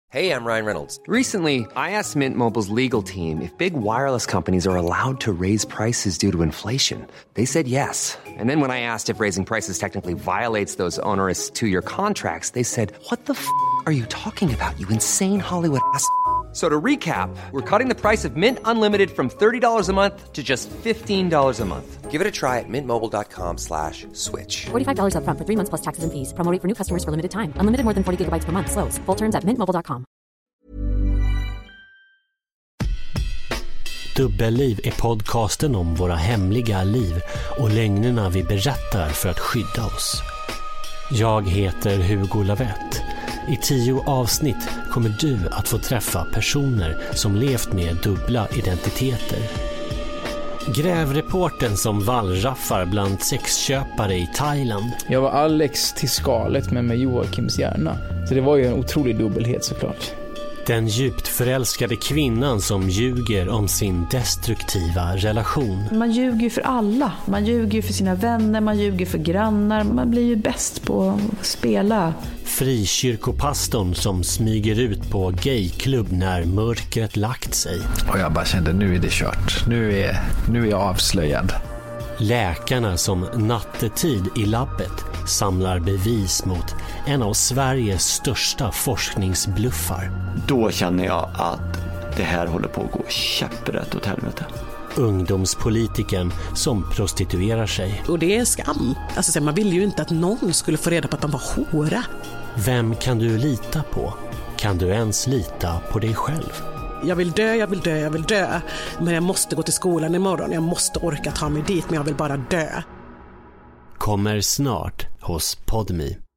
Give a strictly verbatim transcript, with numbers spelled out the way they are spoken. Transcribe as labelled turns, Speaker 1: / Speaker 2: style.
Speaker 1: Hey, I'm Ryan Reynolds.
Speaker 2: Recently, I asked Mint Mobile's legal team if big wireless companies are allowed to raise prices due to inflation. They said yes. And then when I asked if raising prices technically violates those onerous two-year contracts, they said, what the f*** are you talking about, you insane Hollywood ass f- So to recap, we're cutting the price of Mint Unlimited from thirty dollars a month to just fifteen dollars a month.
Speaker 1: Give it a try at mintmobile.com slash switch.
Speaker 3: forty-five dollars up front for three months plus taxes and fees. Promo rate for new customers for limited time. Unlimited more than forty gigabytes per month. Slows full terms at mint mobile dot com.
Speaker 4: Dubbelliv är podcasten om våra hemliga liv och lögnerna vi berättar för att skydda oss. Jag heter Hugo Lavett. I tio avsnitt kommer du att få träffa personer som levt med dubbla identiteter. Grävreporten som vallraffar bland sexköpare i Thailand.
Speaker 5: Jag var Alex till skalet med, med Joakims hjärna. Så det var ju en otrolig dubbelhet såklart.
Speaker 4: Den djupt förälskade kvinnan som ljuger om sin destruktiva relation.
Speaker 6: Man ljuger ju för alla. Man ljuger ju för sina vänner, man ljuger för grannar. Man blir ju bäst på att spela.
Speaker 4: Frikyrkopastorn som smyger ut på gayklubb när mörkret lagt sig.
Speaker 7: Och jag bara kände, nu är det kört. Nu är, nu är jag avslöjad.
Speaker 4: Läkarna som nattetid i labbet samlar bevis mot en av Sveriges största forskningsbluffar.
Speaker 8: Då känner jag att det här håller på att gå käpprätt åt helvete.
Speaker 4: Ungdomspolitiken som prostituerar sig.
Speaker 9: Och det är skam. Alltså, man vill ju inte att någon skulle få reda på att de var hora.
Speaker 4: Vem kan du lita på? Kan du ens lita på dig själv?
Speaker 9: Jag vill dö, jag vill dö, jag vill dö. Men jag måste gå till skolan imorgon. Jag måste orka ta mig dit, men jag vill bara dö.
Speaker 4: Kommer snart hos Podme.